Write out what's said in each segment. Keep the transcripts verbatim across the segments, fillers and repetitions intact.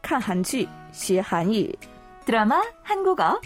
看韩剧学韩语 드라마 한국어.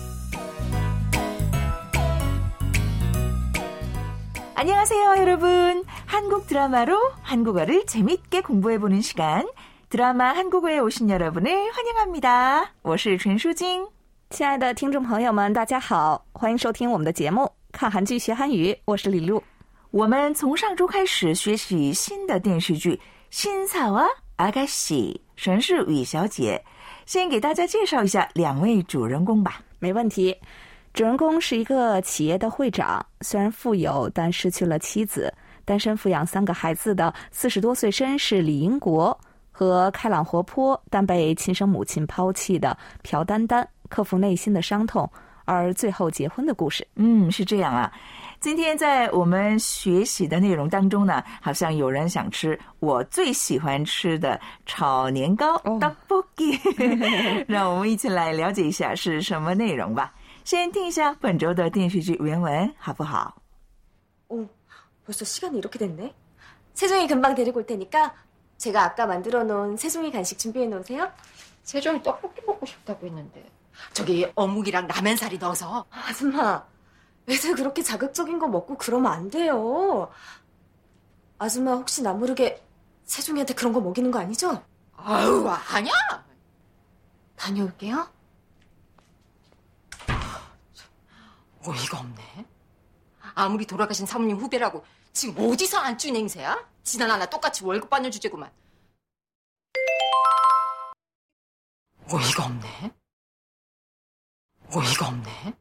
안녕하세요, 여러분. 한국 드라마로 한국어를 재밌게 공부해보는 시간, 드라마 한국어에 오신 여러분을 환영합니다. 我是陈淑晶。 亲爱的听众朋友们，大家好，欢迎收听我们的节目看韩剧学韩语，我是李璐。 我们从上周开始学习新的电视剧신사와 아가씨 沈氏宇小姐，先给大家介绍一下两位主人公吧。 没问题。主人公是一个企业的会长，虽然富有，但失去了妻子，单身抚养三个孩子的四十多岁绅士李银国，和开朗活泼但被亲生母亲抛弃的朴丹丹，克服内心的伤痛，而最后结婚的故事。 嗯，是这样啊。今天在我们学习的内容当中呢，好像有人想吃我最喜欢吃的炒年糕떡볶이、哦、让我们一起来了解一下是什么内容吧。先听一下本周的电视剧原文好不好？ 어, 벌써 시간이 이렇게 됐네. 세종이 금방 데리고 올 테니까 제가 아까 만들어 놓은 세종이 간식 준비해 놓으세요. 세종이 떡볶이 먹고 싶다고 했는데 저기 어묵이랑 라면사리 넣어서. 아줌마, 애들 그렇게 자극적인 거 먹고 그러면 안 돼요. 아줌마 혹시 나 모르게 세종이한테 그런 거 먹이는 거 아니죠? 아유, 아니야. 다녀올게요. 어이가 없네. 아무리 돌아가신 사모님 후배라고 지금 어디서 안쭈인 행세야? 지난 하나 똑같이 월급 받는 주제구만. 어이가 없네. 어이가 없네.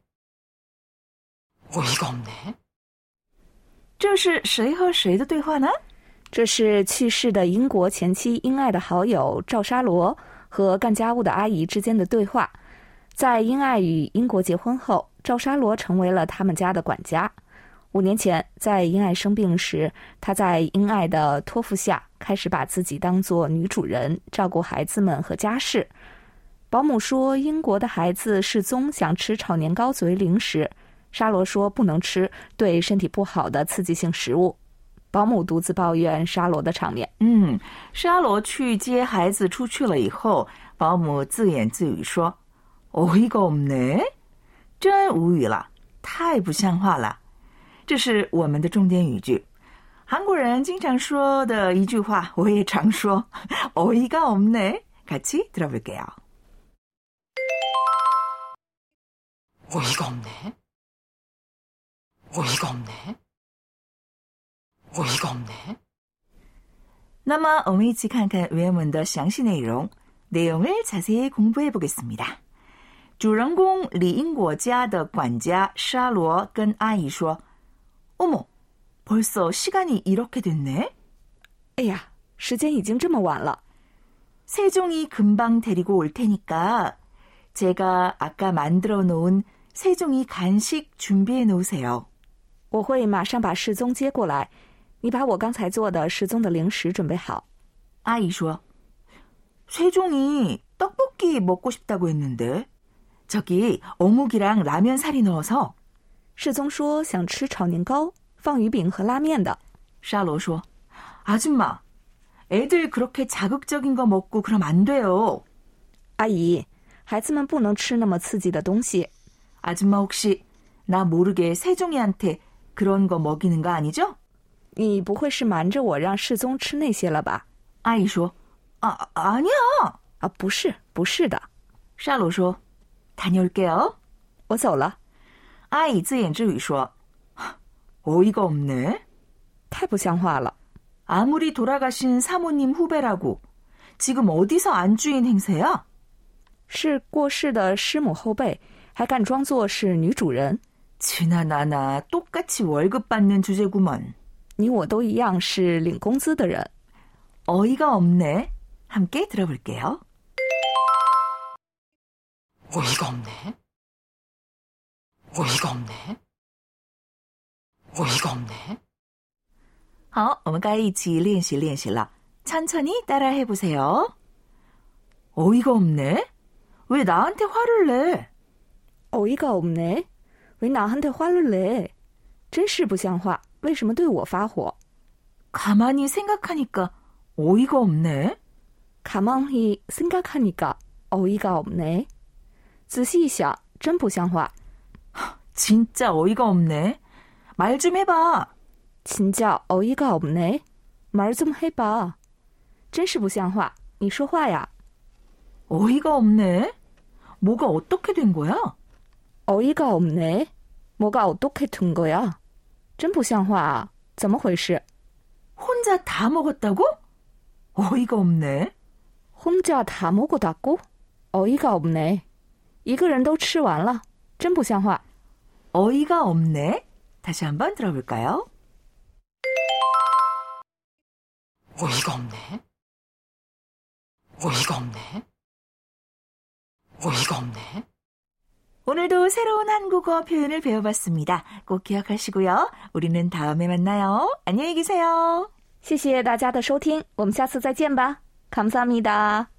어이가 없네. 这是谁和谁的对话呢？ 这是去世的英国前妻英爱的好友赵沙罗和干家务的阿姨之间的对话。在英爱与英国结婚后，赵沙罗成为了他们家的管家。五年前，在英爱生病时，他在英爱的托付下，开始把自己当作女主人，照顾孩子们和家事。保姆说，英国的孩子失踪，想吃炒年糕作为零食。沙罗说不能吃，对身体不好的刺激性食物。保姆独自抱怨沙罗的场面。 嗯，沙罗去接孩子出去了以后，保姆自言自语说：“어이가 없네，真无语了，太不像话了。”这是我们的重点语句。韩国人经常说的一句话，我也常说，어이가 없네。같이 들어볼게요。 어이가 없네. 어이가 없네. 어이가 없네. 那么我们一起看看原文的详细内容， 내용을 자세히 공부해 보겠습니다。主人公李英国家的管家沙罗跟阿姨说：“어머，벌써 시간이 이렇게 됐네。 哎呀，时间已经这么晚了。 세종이 금방 데리고 올 테니까 제가 아까 만들어 놓은 세종이 간식 준비해 놓으세요。 我会马上把世宗接过来，你把我刚才做的世宗的零食准备好。” 阿姨说：“세종이 떡볶이 먹고 싶다고 했는데 저기 어묵이랑 라면 사리 넣어서。” 世宗说想吃炒年糕，放鱼饼和拉面的。 沙罗说：“아줌마，애들 그렇게 자극적인 거 먹고 그럼 안 돼요。” 阿姨，孩子们不能吃那么刺激的东西。 아줌마 혹시 나 모르게 세종이한테 그런 거 먹이는 거 아니죠? 你不会是瞒着我让世宗吃那些了吧？ 阿姨说：“啊，아니야。” 啊，不是，不是的。 沙罗说：“다녀올게요。” 我走了。 阿姨自言自语说：“어이가 없네。” 太不像话了。 아무리 돌아가신 사모님 후배라고 지금 어디서 안주인 행세야? 是过世的师母后辈，还敢装作是女主人。 지나나나 똑같이 월급 받는 주제구먼. 你我都一样是领工资的人。 어이가 없네. 함께 들어볼게요. 어이가 없네. 어이가 없네. 어이가 없네. 好，我们该一起练习练习了。 천천히 따라해 보세요. 어이가 없네. 왜 나한테 화를 내? 어이가 없네. 왜 나한테 화를 내? 真是不像话，为什么对我发火？ 가만히 생각하니까 어이가 없네. 가만히 생각하니까 어이가 없네. 仔细想真不像话. 진짜 어이가 없네. 말 좀 해봐. 진짜 어이가 없네. 말 좀 해봐. 真是不像话. 你说话呀. 어이가 없네. 뭐가 어떻게 된 거야? 어이가 없네. 뭐가 어떻게 된 거야? 真不像话. 怎么回事? 혼자 다 먹었다고? 어이가 없네. 혼자 다 먹었다고? 어이가 없네. 一个人都吃完了. 真不像话. 어이가 없네. 다시 한번 들어볼까요? 어이가 없네. 어이가 없네. 어이가 없네. 오늘도 새로운 한국어 표현을 배워봤습니다. 꼭 기억하시고요. 우리는 다음에 만나요. 안녕히 계세요. 谢谢大家的收听，我们下次再见吧。감사합니다。